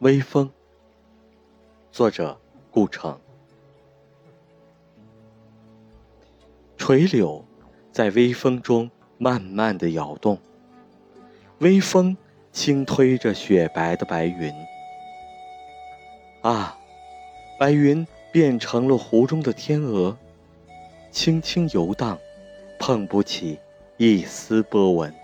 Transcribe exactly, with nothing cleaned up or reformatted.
微风，作者顾城。垂柳在微风中慢慢地摇动，微风轻推着雪白的白云。啊，白云变成了湖中的天鹅，轻轻游荡，碰不起一丝波纹。